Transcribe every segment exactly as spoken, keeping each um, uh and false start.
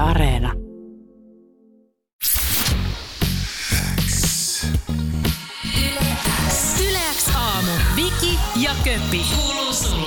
Areena. Yle X aamu. Viki ja Köppi. Kuuluu sulle.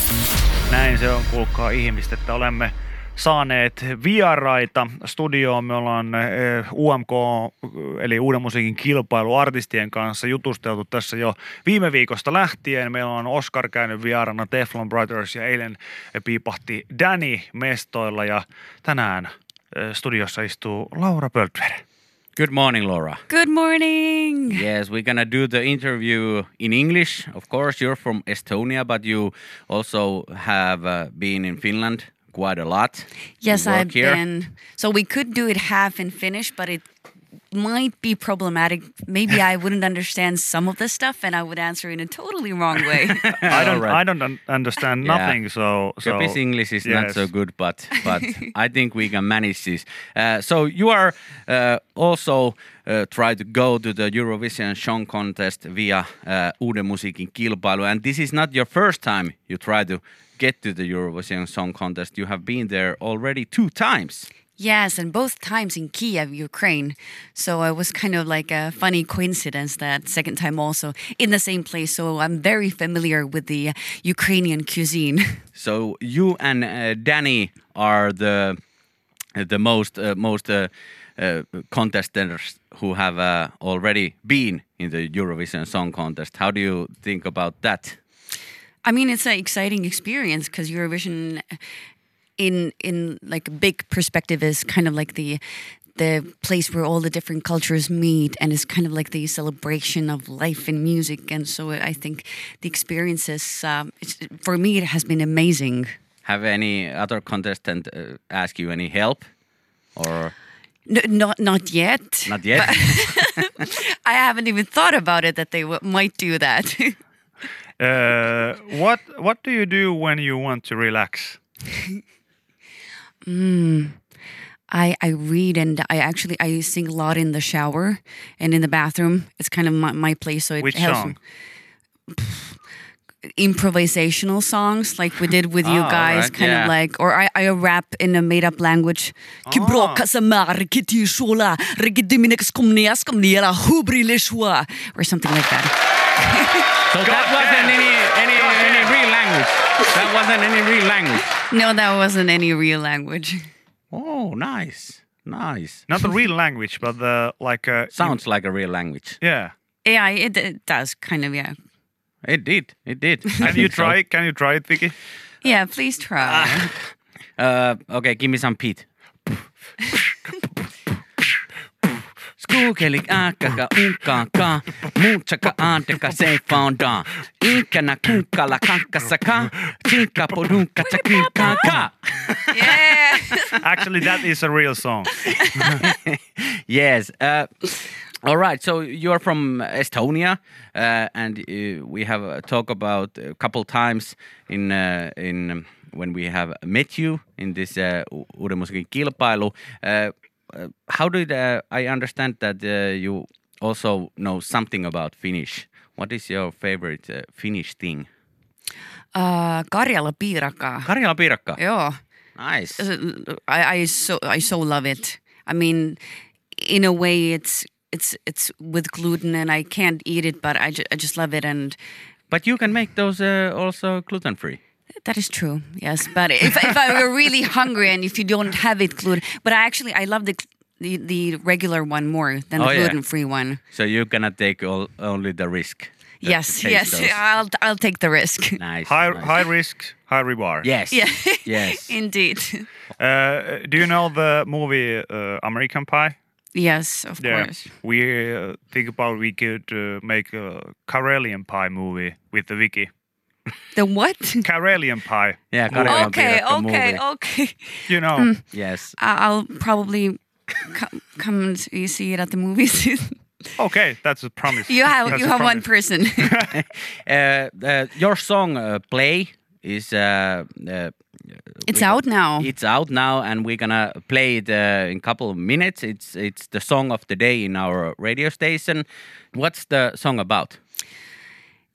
Näin se on, kuulkaa ihmistä, että olemme saaneet vieraita studioon. Me ollaan U M K, eli Uuden musiikin kilpailu artistien kanssa jutusteltu tässä jo viime viikosta lähtien. Meillä on Oscar käynyt vieraana, Teflon Brothers, ja eilen piipahti Danny mestoilla, ja tänään studiossa istuu Laura Pöltver. Good morning, Laura. Good morning! Yes, we're gonna do the interview in English. Of course, you're from Estonia, but you also have uh, been in Finland quite a lot. Yes, I've here. been. So we could do it half in Finnish, but it might be problematic. Maybe I wouldn't understand some of the stuff, and I would answer in a totally wrong way. I don't, Right. I don't un- understand Yeah. nothing, so... so Köpi's English is yes. not so good, but but I think we can manage this. Uh, so you are uh, also uh, try to go to the Eurovision Song Contest via uh, Uuden musiikin kilpailu, and this is not your first time you try to get to the Eurovision Song Contest. You have been there already two times. Yes, and both times in Kiev, Ukraine. So it was kind of like a funny coincidence that second time also in the same place. So I'm very familiar with the Ukrainian cuisine. So you and uh, Danny are the the most uh, most uh, uh, contestants who have uh, already been in the Eurovision Song Contest. How do you think about that? I mean, it's an exciting experience because Eurovision, in in like a big perspective, is kind of like the the place where all the different cultures meet, and it's kind of like the celebration of life and music. And so I think the experience is, um, it's, for me, it has been amazing. Have any other contestant uh, ask you any help, or No, not not yet. not yet? I haven't even thought about it that they w- might do that. Uh, what what do you do when you want to relax? I, I read, and I actually I sing a lot in the shower and in the bathroom. It's kind of my, my place, so it Which helps. song? Improvisational songs like we did with you Ah, guys, alright, kind yeah. of like, or I, I rap in a made-up language. Or something like that. So that wasn't any any any real language. That wasn't any real language. No, that wasn't any real language. Oh, nice, nice. Not the real language, but the like uh, Sounds like a real language. yeah. Yeah, it, it does kind of, yeah. It did. It did. I Can you think so. try? Can you try it, Vicky? Yeah, please try. Uh, okay, give me some Pete. Skuukeli ääkkäkä unkaakaa, muutsaka aanteka seifaundaa. Inkänä kunkkala kankkasakaa, tinkka podunka tsakinkaakaa. Yeah. Actually, that is a real song. Yes. Uh, all right. So you're from Estonia, uh, and uh, we have uh, talked about a couple times in uh, in um, when we have met you in this uh, U- Uuden musiikin kilpailu. Uh, uh, how did uh, I understand that uh, you also know something about Finnish? What is your favorite uh, Finnish thing? Uh, Karjala piirakka. Karjala piirakka. Joo. Nice. I, I so I so love it. I mean, in a way, it's it's it's with gluten, and I can't eat it, but I, ju- I just love it, and But you can make those uh, also gluten free. that is true. Yes, but if if I were really hungry and if you don't have it gluten, but I actually I love the the, the regular one more than the Oh, yeah. gluten free one. So you're gonna take all, only the risk. that Yes, to taste yes, those. I'll I'll take the risk. Nice. High nice. high risk, high reward. Yes. Yeah. Yes. Indeed. Uh, do you know the movie uh, American Pie? Yes, of Yeah. course. We uh, think about we could uh, make a Karelian Pie movie with the Vicky. The what? Karelian Pie. Yeah. Karjalan Okay, piirakka okay, movie. okay. You know. Mm. Yes. I- I'll probably come, come and see see it at the movies. Okay, that's a promise. you have That's you a have one promise. person. Uh, uh, your song uh, "Play" is uh, uh, It's we- out now. It's out now, and we're gonna play it uh, in a couple of minutes. It's it's the song of the day in our radio station. What's the song about?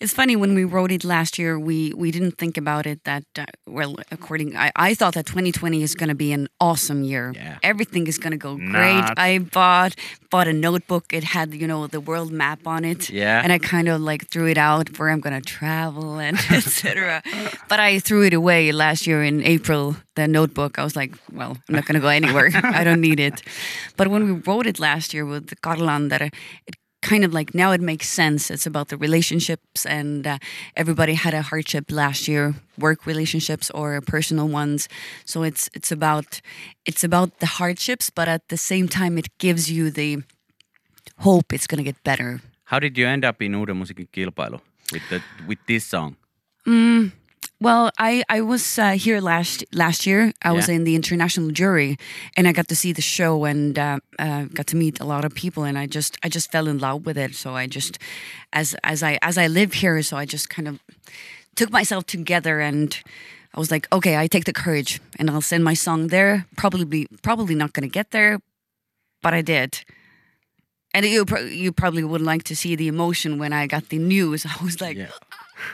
It's funny, when we wrote it last year, we, we didn't think about it that, uh, well, according, I, I thought that twenty twenty is going to be an awesome year. Yeah. Everything is going to go great. Not. I bought bought a notebook. It had, you know, the world map on it. Yeah. And I kind of like threw it out where I'm going to travel and et cetera. But I threw it away last year in April, the notebook. I was like, well, I'm not going to go anywhere. I don't need it. But when we wrote it last year with Karlan, that it kind of like, now it makes sense. It's about the relationships, and uh, everybody had a hardship last year, work relationships or personal ones. So it's it's about it's about the hardships, but at the same time it gives you the hope it's going to get better. How did you end up in Uuden musiikin kilpailu with the with this song? Mm, well, I I was uh, here last last year. I was Yeah. in the international jury, and I got to see the show and uh, uh, got to meet a lot of people, and I just I just fell in love with it. So I just, as as I as I live here, so I just kind of took myself together, and I was like, okay, I take the courage, and I'll send my song there. Probably probably not going to get there, but I did. And you pro- you probably would like to see the emotion when I got the news. I was like, Yeah.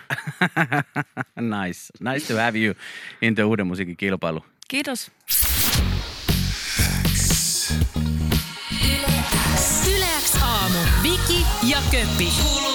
Nice. Nice to have you in the Uuden musiikin kilpailu. kiitos. Yle X aamu. Viki ja Köppi.